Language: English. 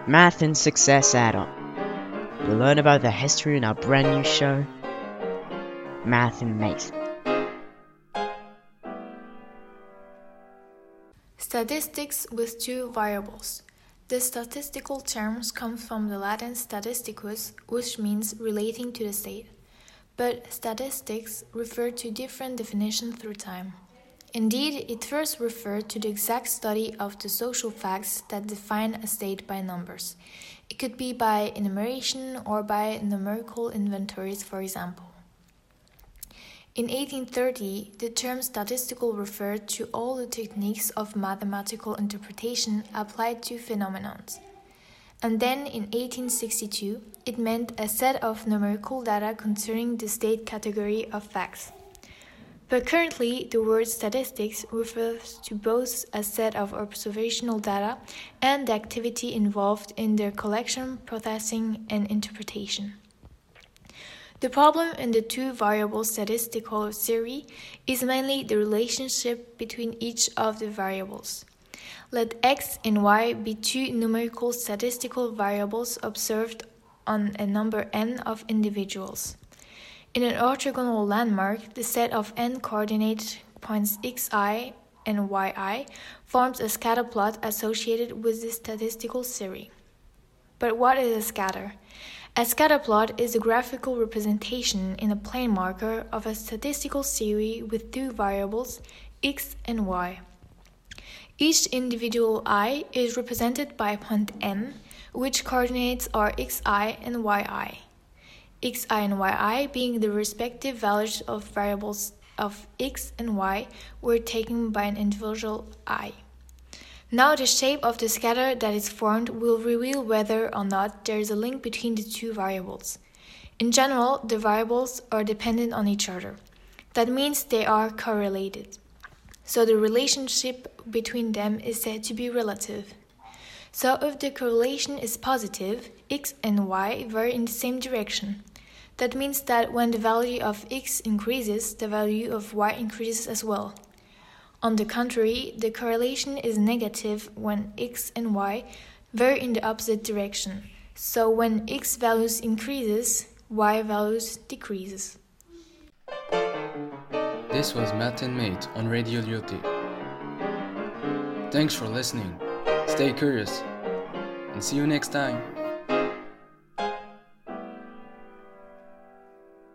Math and Success Add-on. You'll learn about the history in our brand new show, Math and Mate. Statistics with two variables. The statistical terms come from the Latin statisticus, which means relating to the state. But statistics refer to different definitions through time. Indeed, it first referred to the exact study of the social facts that define a state by numbers. It could be by enumeration or by numerical inventories, for example. In 1830, the term statistical referred to all the techniques of mathematical interpretation applied to phenomena. And then in 1862, it meant a set of numerical data concerning the state category of facts. But currently, the word statistics refers to both a set of observational data and the activity involved in their collection, processing, and interpretation. The problem in the two-variable statistical theory is mainly the relationship between each of the variables. Let x and y be two numerical statistical variables observed on a number n of individuals. In an orthogonal landmark, the set of n coordinate points xi and yi forms a scatter plot associated with the statistical theory. But what is a scatter? A scatter plot is a graphical representation in a plane marker of a statistical theory with two variables, x and y. Each individual I is represented by a point n, which coordinates are xi and yi. Xi and yi being the respective values of variables of x and y were taken by an individual I. Now the shape of the scatter that is formed will reveal whether or not there is a link between the two variables. In general, the variables are dependent on each other. That means they are correlated. So the relationship between them is said to be relative. So if the correlation is positive, x and y vary in the same direction. That means that when the value of x increases, the value of y increases as well. On the contrary, the correlation is negative when x and y vary in the opposite direction. So when x values increases, y values decreases. This was Math and Mate on Radio Lyoté. Thanks for listening. Stay curious and see you next time.